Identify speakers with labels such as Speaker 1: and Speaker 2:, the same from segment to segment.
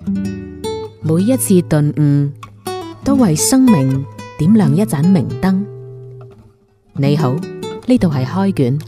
Speaker 1: 每一次頓悟，都為生命點亮一盞明燈。你好，呢度係開卷。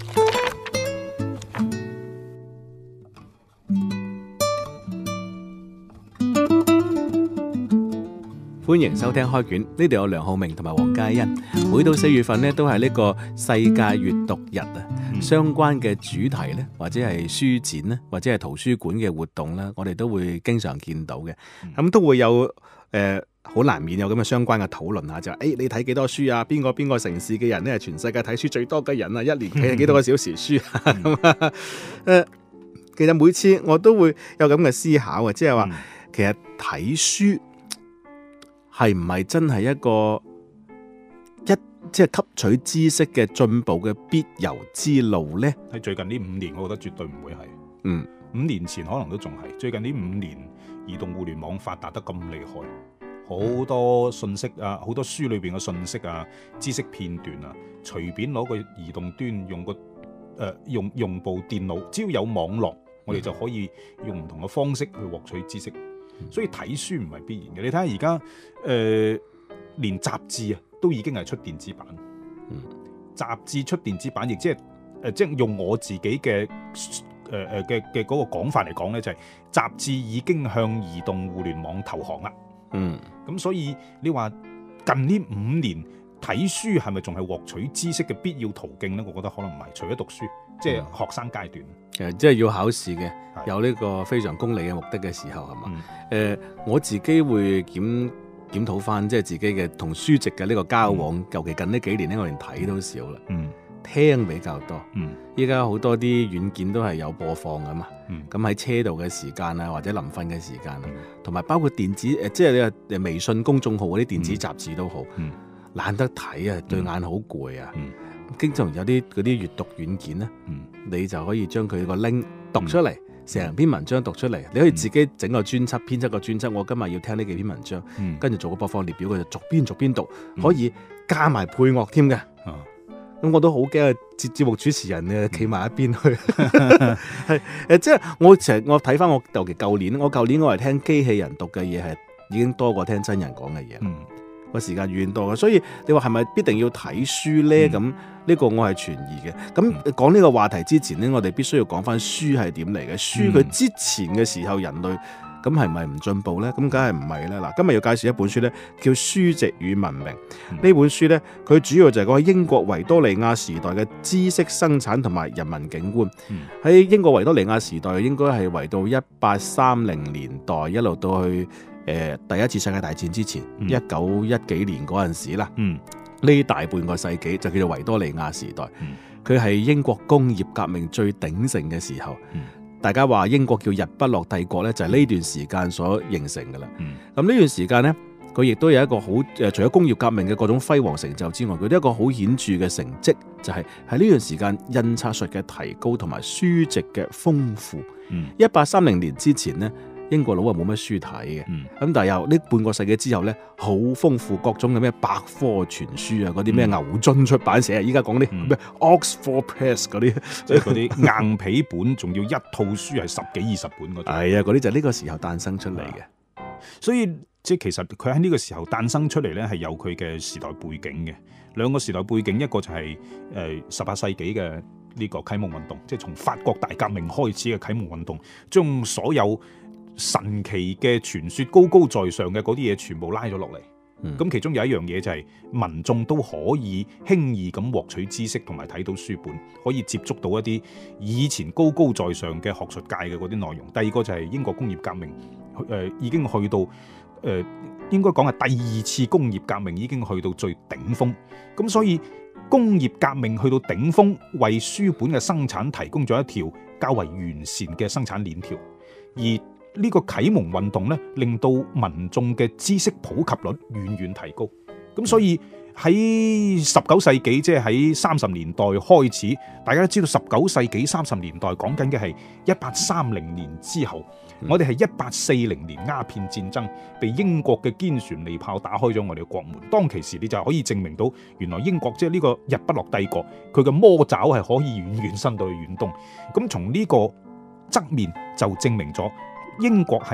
Speaker 2: 歡迎收聽開卷，呢度有梁浩明同埋黃嘉欣。每到4月份呢，都係呢個世界閱讀日啊，相關嘅主題呢，或者係書展呢，或者係圖書館嘅活動呢，我哋都會經常見到嘅。咁都會有好難免有咁嘅相關嘅討論啊，就係你睇幾多書啊？邊個城市嘅人呢係全世界睇書最多嘅人啊？一年睇幾多個小時書啊？其實每次我都會有咁嘅思考啊，即係話其實睇書係唔係真係一個即係吸取知識嘅進步嘅必由之路呢？
Speaker 3: 喺最近呢5年，我覺得絕對唔會係。5年前可能都仲係，最近呢5年，移動互聯網發達得咁厲害，好多信息啊，好多書裏邊嘅信息啊，知識片段啊，隨便攞個移動端用部電腦，只要有網絡，我哋就可以用唔同嘅方式去獲取知識。所以睇書唔係必然嘅。你睇下而家連雜誌啊都已經係出電子版。雜誌出電子版，亦即係用我自己嘅嗰個講法嚟講咧，就係雜誌已經向移動互聯網投降啦。咁所以你話近呢5年睇書係咪仲係獲取知識嘅必要途徑咧？我覺得可能唔係，除咗讀書，即係學生階段，
Speaker 2: 即係要考試嘅，有呢個非常功利嘅目的嘅時候係嘛？我自己會檢討翻，即係自己嘅同書籍嘅呢個交往，尤其近呢幾年咧，我連睇都少啦。聽比較多。依家好多啲軟件都係有播放噶嘛。咁喺車度嘅時間啊，或者臨瞓嘅時間啊，同埋包括電子即係你微信公眾號嗰啲電子雜誌都好，懶得睇啊，對眼好攰啊。經常有啲嗰啲閱讀軟件咧，你就可以將佢個 link 讀出嚟，成篇文章讀出嚟。你可以自己整個專輯，編輯個專輯。我今日要聽呢幾篇文章，跟住做個播放列表，佢就逐篇讀，可以加埋配樂添嘅。咁我都好驚啊！節目主持人咧企埋一邊去，即係我睇翻我尤其舊年我係聽機器人讀嘅嘢係已經多過聽真人講嘅嘢。個時間遠多嘅，所以你話係咪必定要睇書呢？咁呢個我係存疑嘅。咁講呢個話題之前呢，我哋必須要講翻書係點嚟嘅。書佢之前嘅時候，人類咁係咪唔進步呢？咁梗係唔係啦。嗱，今日要介紹一本書呢，叫《書籍與文明》。呢本書呢，佢主要就係講英國維多利亞時代嘅知識生產同埋人民景觀。喺英國維多利亞時代，應該係維到1830年代一路到去第一次世界大戰之前，1910幾年嗰陣時啦，呢大半個世紀就叫做維多利亞時代。佢係英國工業革命最鼎盛嘅時候。大家話英國叫日不落帝國咧，就係呢段時間所形成噶啦。咁呢段時間咧，佢亦都有一個好除咗工業革命嘅各種輝煌成就之外，佢都有一個好顯著嘅成績，就係喺呢段時間印刷術嘅提高同埋書籍嘅豐富。1830年之前咧，英國佬啊冇乜書睇嘅，咁但係又呢半個世紀之後咧，好豐富各種嘅咩百科全書啊，嗰啲咩牛津出版社啊，依家講啲咩 Oxford Press 嗰啲，
Speaker 3: 即係嗰啲硬皮本，仲要一套書係10幾20本嗰啲。
Speaker 2: 係啊，嗰啲就係呢個時候誕生出嚟嘅。
Speaker 3: 所以即係其實佢喺呢個時候誕生出嚟咧，係有佢嘅時代背景嘅。兩個時代背景，一個就係18世紀嘅呢個啟蒙運動，即係從法國大革命開始嘅啟蒙運動，將所有神奇嘅傳說高高在上嘅嗰啲嘢全部拉咗落嚟。咁其中有一樣嘢就係民眾都可以輕易咁獲取知識同埋睇到書本，可以接觸到一啲以前高高在上嘅學術界嘅嗰啲內容。第二個就係英國工業革命，已經去到應該講係第2次工業革命已經去到最頂峰。咁所以工業革命去到頂峰，為書本嘅生產提供咗一條較為完善嘅生產鏈條，而呢個啟蒙運動咧，令到民眾嘅知識普及率遠遠提高。咁所以喺19世紀，即係喺30年代開始，大家都知道19世紀30年代講緊嘅係1830年之後。我哋係1840年鴉片戰爭被英國嘅堅船利炮打開咗我哋嘅國門。當其時你就可以證明到，原來英國即係呢個日不落帝國，佢嘅魔爪係可以遠遠伸到去遠東。咁從呢個側面就證明咗英國係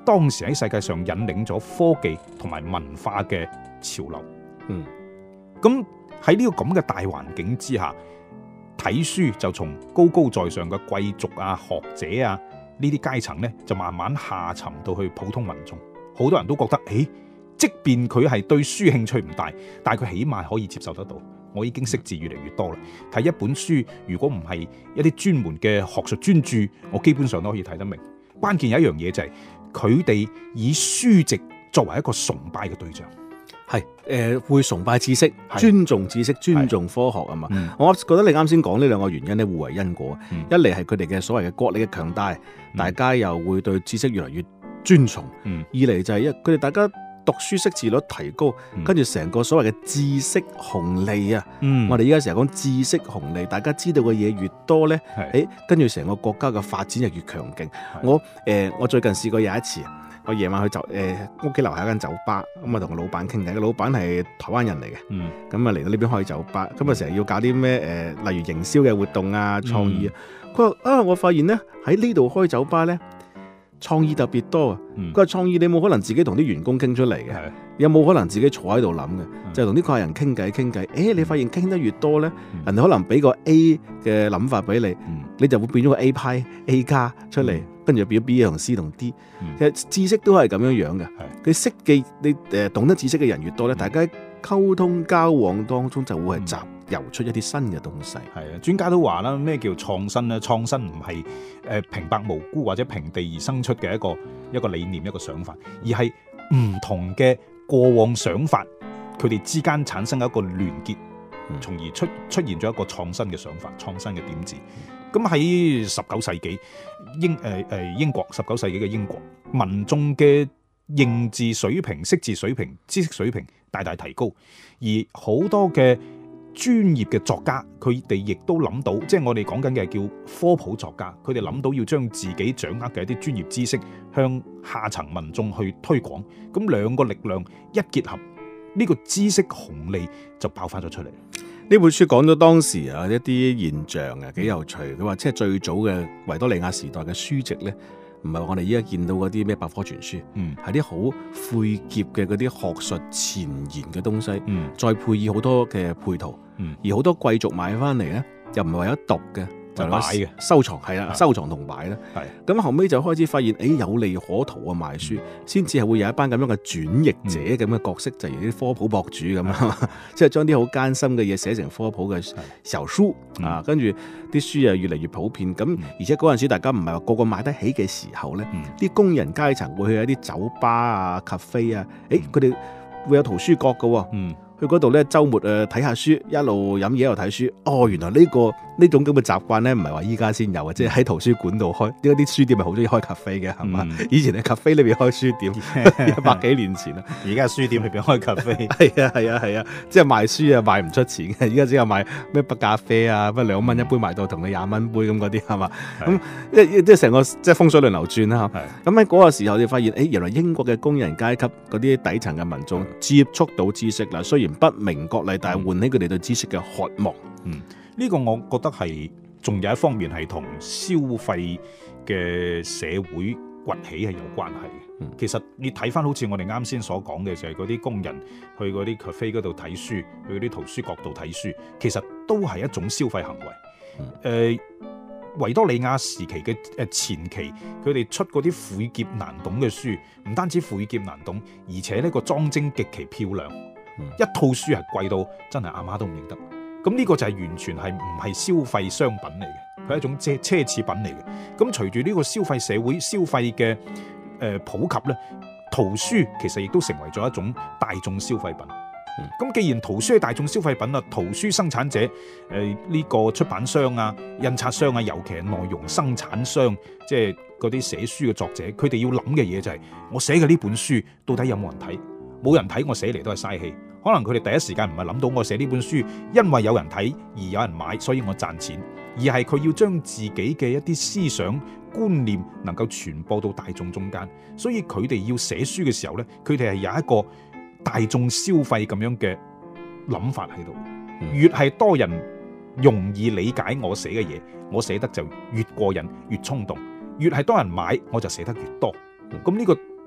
Speaker 3: 當時喺世界上引領咗科技同埋文化嘅潮流。咁喺呢個咁嘅大環境之下，睇書就從高高在上嘅貴族啊、學者啊呢啲階層呢，就慢慢下沉到去普通民眾。好多人都覺得，即便佢係對書興趣唔大，但係佢起碼可以接受得到。我已經識字越嚟越多啦。睇一本書，如果唔係一啲專門嘅學術專著，我基本上都可以睇得明。關鍵有一樣嘢就係佢哋以書籍作為一個崇拜嘅對象，
Speaker 2: 係會崇拜知識、尊重知識、尊重科學啊嘛。我覺得你啱先講呢兩個原因咧，互為因果。一嚟係佢哋嘅所謂嘅國力嘅強大，大家又會對知識越嚟越尊崇。二嚟就係佢哋大家讀書識字率提高，跟住成個所謂嘅知識紅利啊。我哋依家成日講知識紅利，大家知道嘅嘢越多咧，跟住成個國家嘅發展就越強勁。我最近試過有一次，我夜晚去屋企樓下一間酒吧，咁啊同個老闆傾偈，個老闆係台灣人嚟嘅，咁啊嚟到呢邊開酒吧，咁啊成日要搞啲咩例如營銷嘅活動啊、創意啊。佢話我發現咧喺呢度開酒吧咧，創意特別多啊！佢話創意你冇可能自己同啲員工傾出嚟嘅，有冇可能自己坐喺度諗嘅？就係同啲客人傾偈。你發現傾得越多咧，人哋可能俾個 A 嘅諗法俾你，你就會變咗個 A 派 A 加出嚟，跟住變咗 B 同 C 同 D。其實知識都係咁樣樣嘅。佢識嘅你懂得知識嘅人越多咧，大家溝通交往當中就會係集遊出一啲新嘅東西。
Speaker 3: 係啊，專家都話啦，咩叫創新咧？創新唔係平白無故或者平地而生出嘅一個理念、一個想法，而係唔同嘅過往想法，佢哋之間產生一個聯結，從而出現咗一個創新嘅想法、創新嘅點子。咁喺19世紀英國19世紀嘅英國，民眾嘅認字水平、識字水平、知識水平大大提高，而好多嘅專業嘅作家，佢哋亦都諗到，即係我哋講緊嘅叫科普作家，佢哋諗到要將自己掌握嘅一啲專業知識向下層民眾去推廣，咁兩個力量一結合，呢個知識紅利就爆發咗出嚟。
Speaker 2: 呢本書講咗當時啊一啲現象啊幾有趣。佢話即係最早嘅維多利亞時代嘅書籍咧，唔係我哋依家見到嗰啲咩百科全書，係啲好晦澀嘅嗰啲學術前沿嘅東西，再配以好多嘅配圖，而好多貴族買翻嚟咧，又唔係為咗讀嘅，就擺嘅收藏，係啦，收藏同擺啦。咁後尾就開始發現，有利可圖啊賣書，先至係會有一班咁樣嘅轉譯者咁嘅角色，就如啲科普博主咁啊，即係將啲好艱辛嘅嘢寫成科普嘅小書啊，跟住啲書啊越嚟越普遍。咁而且嗰陣時大家唔係話個個買得起嘅時候咧，啲工人階層會去一啲酒吧啊、咖啡啊，佢哋會有圖書角㗎。去嗰度咧，週末睇下書，一路飲嘢一路睇書。原來呢種咁嘅習慣咧，唔係話依家先有啊，即係喺圖書館度開。點解啲書店咪好中意開咖啡嘅係嘛？以前喺咖啡裏邊開書店，100幾年前啦。
Speaker 3: 而家書店裏邊開咖啡，
Speaker 2: 係啊，即係賣書啊賣唔出錢嘅。而家只有賣咩杯咖啡啊，乜2蚊一杯賣到同你20蚊杯咁嗰啲係嘛？咁即係成個即係風水輪流轉啦。咁喺嗰個時候，你發現原來英國嘅工人階級嗰啲底層嘅民眾接觸到知識啦，雖然不明覺厲，但係喚起佢哋對知識嘅渴望。
Speaker 3: 呢個我覺得係仲有一方面係同消費嘅社會崛起係有關係嘅。其實你睇翻好似我哋啱先所講嘅，就係嗰啲工人去嗰啲 cafe 嗰度睇書，去嗰啲圖書角度睇書，其實都係一種消費行為。維多利亞時期嘅前期，佢哋出嗰啲晦澀難懂嘅書，唔單止晦澀難懂，而且呢個裝幀極其漂亮。一套書係貴到真係阿媽都唔認得，咁呢個就係完全係唔係消費商品嚟嘅，佢係一種奢侈品嚟嘅。咁隨住呢個消費社會消費嘅普及咧，圖書其實亦都成為咗一種大眾消費品。咁既然圖書係大眾消費品啦，圖書生產者呢個出版商啊、印刷商啊，尤其係內容生產商，即係嗰啲寫書嘅作者，佢哋要諗嘅嘢就係我寫嘅呢本書到底有冇人睇？冇人睇，我寫嚟都係嘥氣。可能佢哋第一時間唔係諗到我寫呢本書因為有人睇而有人買，所以我賺錢，而係佢要將自己嘅一啲思想觀念能夠傳播到大眾中間。所以佢哋要寫書嘅時候呢，佢哋係有一個大眾消費咁樣嘅諗法喺度。越係多人容易理解我寫嘅嘢，我寫得就越過癮越衝動，越係多人買我就寫得越多。咁呢個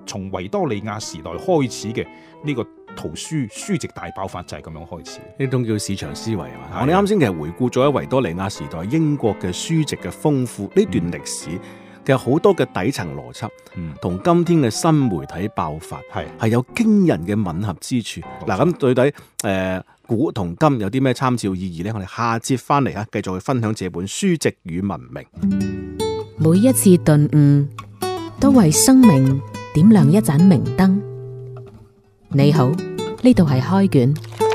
Speaker 3: 從維多利亞時代開始嘅呢個圖書籍大爆發就係咁樣開始。
Speaker 2: 呢種叫市場思維啊嘛。我哋啱先其實回顧咗喺維多利亞時代英國嘅書籍嘅豐富呢段歷史，其實好多嘅底層邏輯，同今天嘅新媒體爆發係有驚人嘅吻合之處。嗱，咁到底古同今有啲咩參照意義呢？我哋下節翻嚟繼續去分享這本書籍與文明。
Speaker 1: 每一次頓悟都為生命點亮一盞明燈。你好，呢度係開卷。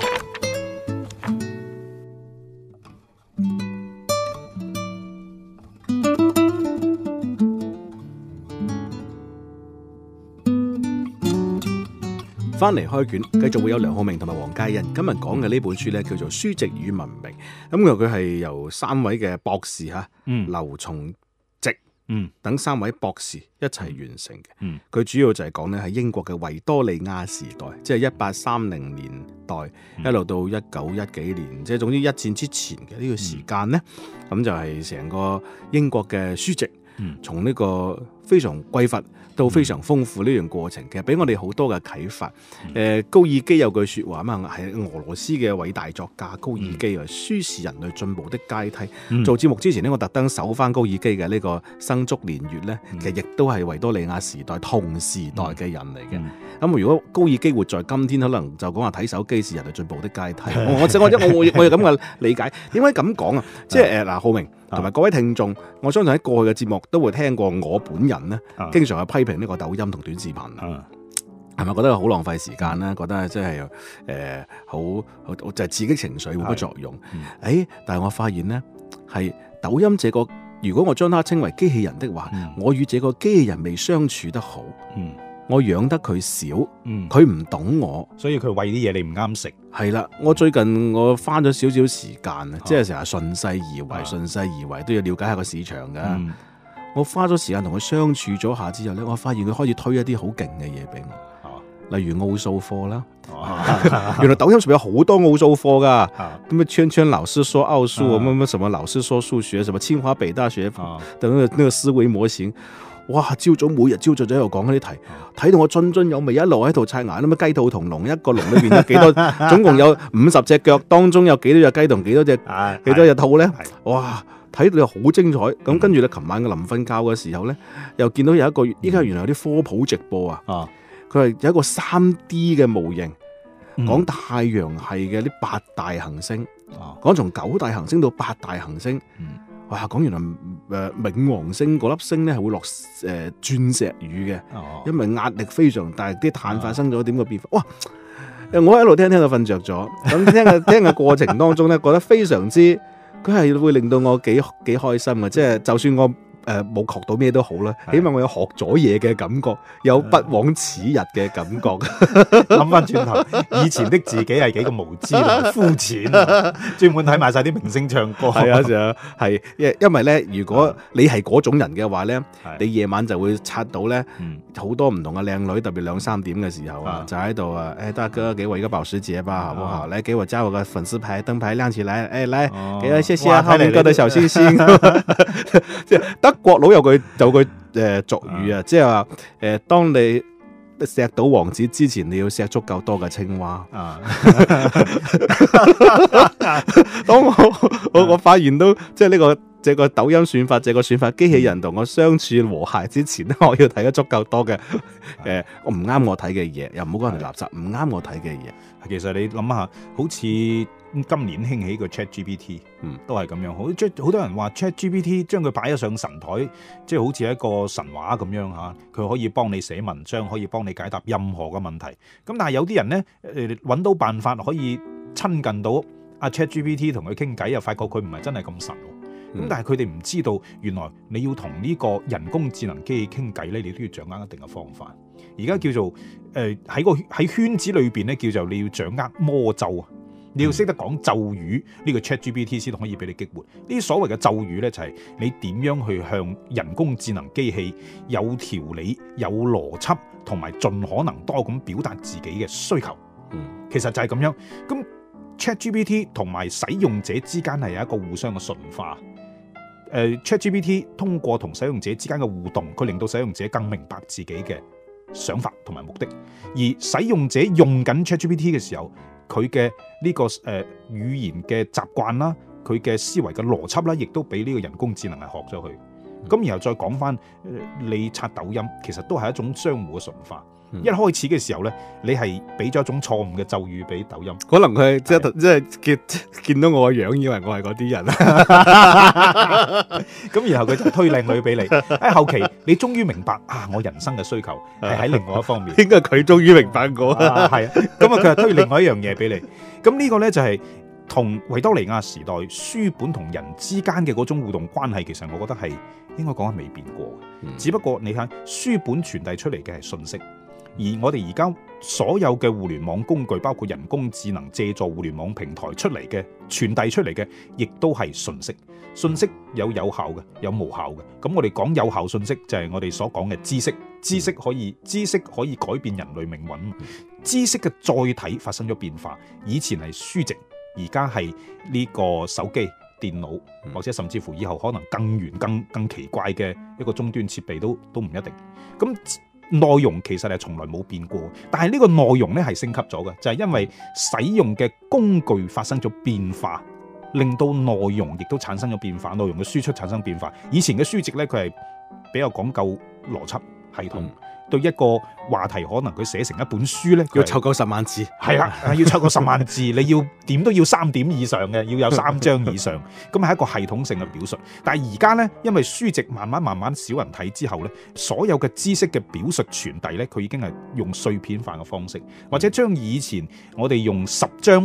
Speaker 2: 翻嚟開卷，繼續會有梁浩明同埋黃嘉欣。今日講嘅呢本書呢，叫做《書籍與文明》。咁佢係由3位嘅博士劉從植等3位博士一齊完成嘅。佢主要就係講呢，喺英國嘅維多利亞時代，即係1830年代一路到1910幾年，即係總之一戰之前嘅呢個時間呢，咁就係成個英國嘅書籍從呢個非常匱乏到非常豐富呢段過程，其實俾我哋好多嘅啟發。高爾基有句説話嘛，係俄羅斯嘅偉大作家高爾基啊，書是人類進步的階梯。做節目之前呢，我特登搜翻高爾基嘅呢個《生卒年月》呢，其實亦都係維多利亞時代同時代嘅人嚟嘅。咁如果高爾基活在今天，可能就講話睇手機是人類進步的階梯。我有咁嘅理解。點解咁講啊？即係嗱，浩明同埋各位聽眾，我相信喺過去嘅節目都會聽過我本人呢，經常去批評呢個抖音同短視頻，係咪覺得好浪費時間咧？覺得真係好就係刺激情緒冇乜作用。但係我發現呢，係抖音這個，如果我將它稱為機器人的話，我與這個機器人未相處得好，我養得佢少，佢唔懂我，
Speaker 3: 所以佢餵啲嘢你唔啱食。
Speaker 2: 係啦，我最近我花咗少少時間啊，即係成日順勢而為，都要了解下個市場噶。我花咗時間同佢相處咗下之後咧，我發現佢開始推一啲好勁嘅嘢俾我，例如奧數課啦。原來抖音上面有好多奧數課噶，咁啊圈圈老師說奧數，乜什麼老師說數學，什麼清華北大學等那個思維模型。哇！每日朝早就喺度講嗰啲題，睇到我津津有味，一路喺度刷牙。咁雞兔同籠，一個籠裏邊有幾多？總共有50隻腳，當中有幾多隻雞同幾多隻兔咧？哇！睇到又好精彩。咁跟住咧，琴晚嘅臨瞓覺嘅時候咧，又見到有一個依家原來有啲科普直播啊。佢係有一個3D 嘅模型，講太陽系嘅呢8大行星，講從9大行星到8大行星。哇！講原來冥王星嗰粒星咧係會落鑽石雨嘅，因為壓力非常大，啲碳發生咗點個變化。哇！我一路聽到瞓着咗，咁聽嘅過程當中咧，覺得非常之，佢係會令到我幾開心嘅，即係就算我冇學到咩都好啦，起碼我有學咗嘢嘅感覺，有不枉此日嘅感覺。
Speaker 3: 諗翻轉頭，以前的自己係幾咁無知同膚淺，專門睇埋晒啲明星唱歌。
Speaker 2: 係啊，就係因為咧，如果你係嗰種人嘅話咧，你夜晚就會刷到咧好多唔同嘅靚女，特別2、3點嘅時候啊，就喺度啊，大哥給我一個保時捷吧，好不好？來給我加我個粉絲牌，燈牌亮起來，來，給我謝謝浩明哥的小星星。即係德國佬有句俗語啊，即係話當你錫到王子之前，你要錫足夠多嘅青蛙。當我發現到即係這個抖音算法，這個算法機器人同我相處和諧之前咧，我要睇得足夠多嘅我唔啱我睇嘅嘢，又唔好講人垃圾，唔啱我睇嘅嘢。
Speaker 3: 其實你諗下，好似今年興起個 ChatGPT，都係咁樣。好多人話 ChatGPT 將佢擺咗上神台，即係好似一個神話咁樣嚇。佢可以幫你寫文章，可以幫你解答任何嘅問題。咁但係有啲人咧，揾到辦法可以親近到阿 ChatGPT 同佢傾偈，又發覺佢唔係真係咁神。咁但係佢哋唔知道，原來你要同呢個人工智能機器傾偈咧，你都要掌握一定嘅方法。而家叫做喺圈子裏邊咧，叫做你要掌握魔咒啊！你要識得講咒語，呢個 ChatGPT 先可以俾你激活。呢啲所謂嘅咒語咧，就係你點樣去向人工智能機器有條理、有邏輯，同埋盡可能多咁表達自己嘅需求。其實就係咁樣。咁 ChatGPT 同埋使用者之間係有一個互相嘅馴化。ChatGPT 通過同使用者之間嘅互動，佢令到使用者更明白自己嘅想法同埋目的。而使用者用緊 ChatGPT 嘅時候，佢嘅呢個語言嘅習慣啦，佢嘅思維嘅邏輯啦，亦都俾呢個人工智能係學咗佢。咁然後再講翻，你刷抖音其實都係一種相互嘅馴化。一開始嘅時候咧，你係俾咗一種錯誤嘅咒語俾抖音，
Speaker 2: 可能佢即係見到我個樣，以為我係嗰啲人。
Speaker 3: 咁然後佢就推靚女俾你。喺後期你終於明白啊，我人生嘅需求係喺另外一方面。
Speaker 2: 應該佢終於明白我。
Speaker 3: 係啊，咁啊佢係推另外一樣嘢俾你。咁呢個咧就係同維多利亞時代書本同人之間嘅嗰種互動關係，其實我覺得係應該講係未變過嘅。只不過你睇書本傳遞出嚟嘅係信息。而我哋而家所有嘅互聯網工具，包括人工智能借助互聯網平台出嚟嘅傳遞出嚟嘅，亦都係信息。信息有效嘅，有無效嘅。咁我哋講有效信息就係我哋所講嘅知識。知識可以改變人類命運。知識嘅載體發生咗變化，以前係書籍，而家係呢個手機、電腦，或者甚至乎以後可能更遠、更奇怪嘅一個終端設備都唔一定。咁內容其實係從來冇變過，但係呢個內容咧係升級咗嘅，就係因為使用嘅工具發生咗變化，令到內容亦都產生咗變化，內容嘅輸出產生變化。以前嘅書籍咧，佢係比較講究邏輯系統，對一個話題可能佢寫成一本書咧，
Speaker 2: 要湊夠10萬字，
Speaker 3: 係啦，要湊夠10萬字，你要點都要3點以上嘅，要有3章以上，咁係一個系統性嘅表述。但係而家咧，因為書籍慢慢少人睇之後咧，所有嘅知識嘅表述傳遞咧，佢已經係用碎片化嘅方式，或者將以前我哋用10章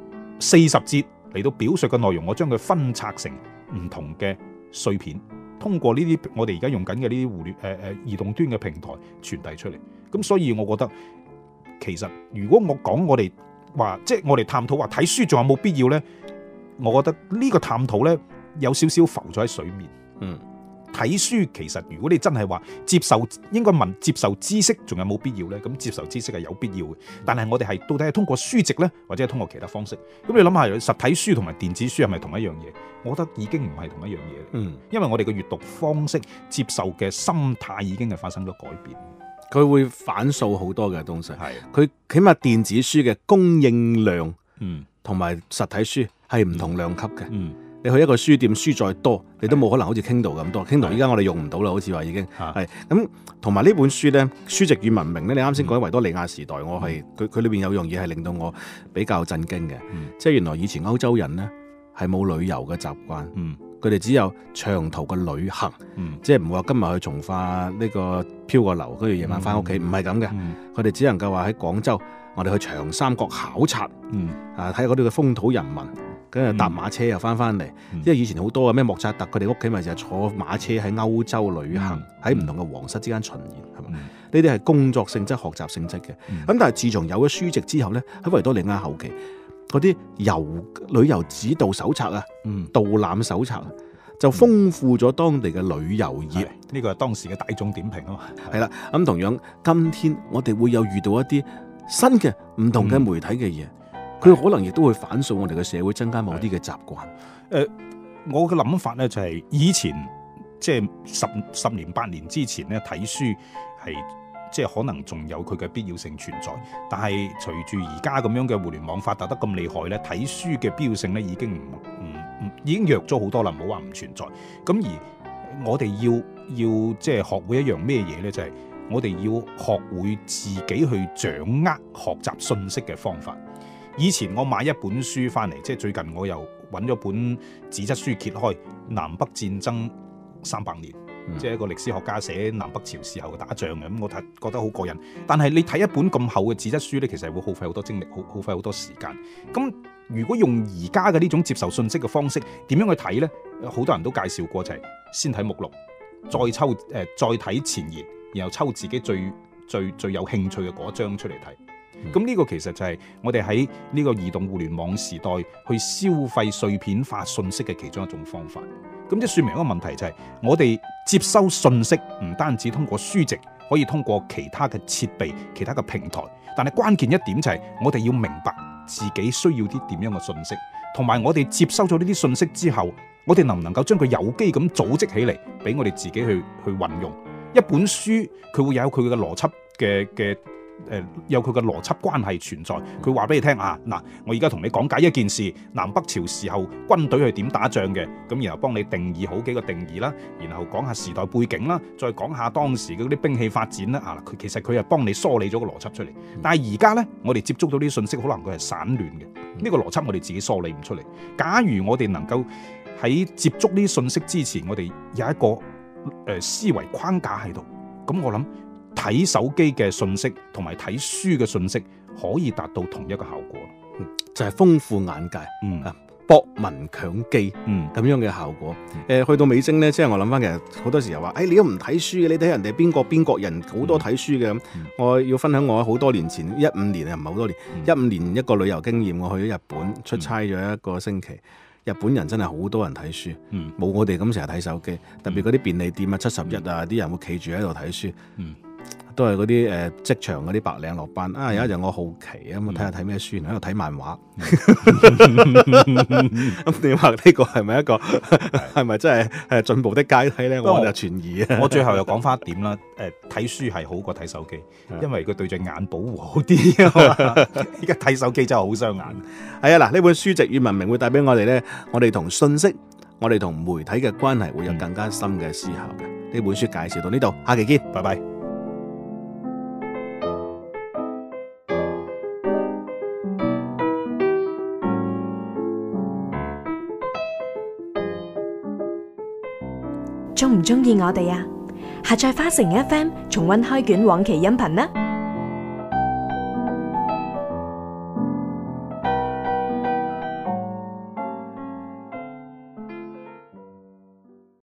Speaker 3: 40節嚟到表述嘅內容，我將佢分拆成唔同嘅碎片。通過呢啲我哋而家用緊嘅呢啲移動端嘅平台傳遞出嚟，咁所以我覺得其實如果我講我哋話即係我哋探討話睇書仲有冇必要呢？我覺得呢個探討呢，有少少浮咗喺水面。睇書其實如果你真係話應該問接受知識仲有冇必要呢？咁接受知識係有必要嘅，但係我哋係到底係通過書籍呢，或者係通過其他方式？咁你諗下，實體書同埋電子書係咪同一樣嘢？我覺得已經唔係同一樣嘢。因為我哋嘅閱讀方式、接受嘅心態已經係發生咗改變。
Speaker 2: 佢會反掃好多嘅東西。係，佢起碼電子書嘅供應量，同埋實體書係唔同量級嘅。你去一個書店，書再多，你都冇可能好似 Kindle 咁多。Kindle 依家我哋用唔到啦，好似話已經係咁。同埋呢本書咧，書籍與文明咧，你啱先講喺維多利亞時代，我係佢裏邊有樣嘢係令到我比較震驚嘅，即係原來以前歐洲人咧係冇旅遊嘅習慣，佢哋只有長途嘅旅行，即係唔會話今日去從化呢個漂個流，跟住夜晚翻屋企，唔係咁嘅。佢哋只能夠話喺廣州，我哋去長三角考察，睇下嗰啲嘅風土人民。跟住搭馬車又翻嚟，因為以前好多嘅咩莫扎特佢哋屋企咪就係坐馬車喺歐洲旅行，喺唔同嘅皇室之間巡演，係嘛？呢啲係工作性質、學習性質嘅。咁但係自從有咗書籍之後咧，喺維多利亞後期嗰啲旅遊指導手冊啊、導覽手冊就豐富咗當地嘅旅遊業。
Speaker 3: 呢個係當時嘅大眾點評啊嘛。
Speaker 2: 係啦，咁同樣今天我哋會有遇到一啲新嘅唔同嘅媒體嘅嘢。佢可能亦都會反掃我哋嘅社會，增加某啲嘅習慣。
Speaker 3: 我嘅諗法咧就係以前即係十年8年之前咧睇書係即係可能仲有佢嘅必要性存在，但係隨住而家咁樣嘅互聯網發達得咁厲害咧，睇書嘅必要性咧已經已經弱咗好多啦，唔好話唔存在。咁而我哋要即係學會一樣咩嘢咧，就係我哋要學會自己去掌握學習信息嘅方法。以前我買一本書翻嚟，即係最近我又揾咗本紙質書揭開南北戰爭300年，即係一個歷史學家寫南北朝時候嘅打仗嘅，咁我覺得好過癮。但係你睇一本咁厚嘅紙質書呢，其實會耗費好多精力，耗費好多時間。咁如果用而家嘅呢種接受信息嘅方式，點樣去睇呢？好多人都介紹過，就係先睇目錄，再睇前言，然後抽自己最有興趣嘅嗰章出嚟睇。咁呢個其實就係我哋喺呢個移動互聯網時代去消費碎片化信息嘅其中一種方法。咁即係說明一個問題，就係我哋接收信息唔單止通過書籍，可以通過其他嘅設備、其他嘅平台，但係關鍵一點就係我哋要明白自己需要啲點樣嘅信息，同埋我哋接收咗呢啲信息之後，我哋能唔能夠將佢有機咁組織起嚟，俾我哋自己去運用。一本書佢會有佢嘅邏輯， 有佢嘅邏輯關係存在。佢話俾你聽啊，嗱，我而家同你講解一件事，南北朝時候軍隊係點打仗嘅，咁然後幫你定義好幾個定義啦，然後講下時代背景啦，再講下當時嗰啲兵器發展啦。啊，其實佢係幫你梳理咗個邏輯出嚟。但係而家呢，我哋接觸到啲信息，可能佢係散亂嘅，呢個邏輯我哋自己梳理唔出嚟。假如我哋能夠喺接觸呢啲信息之前，我哋有一個思維框架喺度，咁我諗睇手機嘅信息同埋睇書嘅信息可以達到同一個效果，
Speaker 2: 就係豐富眼界，博聞強記咁樣嘅效果。去到尾聲咧，即係我諗翻，其實好多時候話，你都唔睇書嘅，你睇人哋邊國人好多睇書嘅咁。我要分享我好多年前15年唔係好多年，15年一個旅遊經驗，我去咗日本出差咗一個星期。日本人真係好多人睇書，冇我哋咁成日睇手機，特別嗰啲便利店啊、71啊，啲人會企住喺度睇書。都係嗰啲職場嗰啲白領落班啊！有一日我好奇咁，我睇下睇咩書，喺度睇漫畫。咁你話呢個係咪一個係咪真係進步的階梯咧？我就存疑啊！
Speaker 3: 我最後又講翻一點啦，睇書係好過睇手機，因為佢對隻眼保護好啲啊嘛。依家睇手機真係好傷眼。
Speaker 2: 係啊，嗱，呢本書籍與文明會帶俾我哋咧，我哋同信息、我哋同媒體嘅關係會有更加深嘅思考嘅。呢本書介紹到呢度，下期見，
Speaker 3: 拜拜。
Speaker 4: 鍾唔鍾意我哋啊？下載花城 FM 重溫開卷往期音頻啦！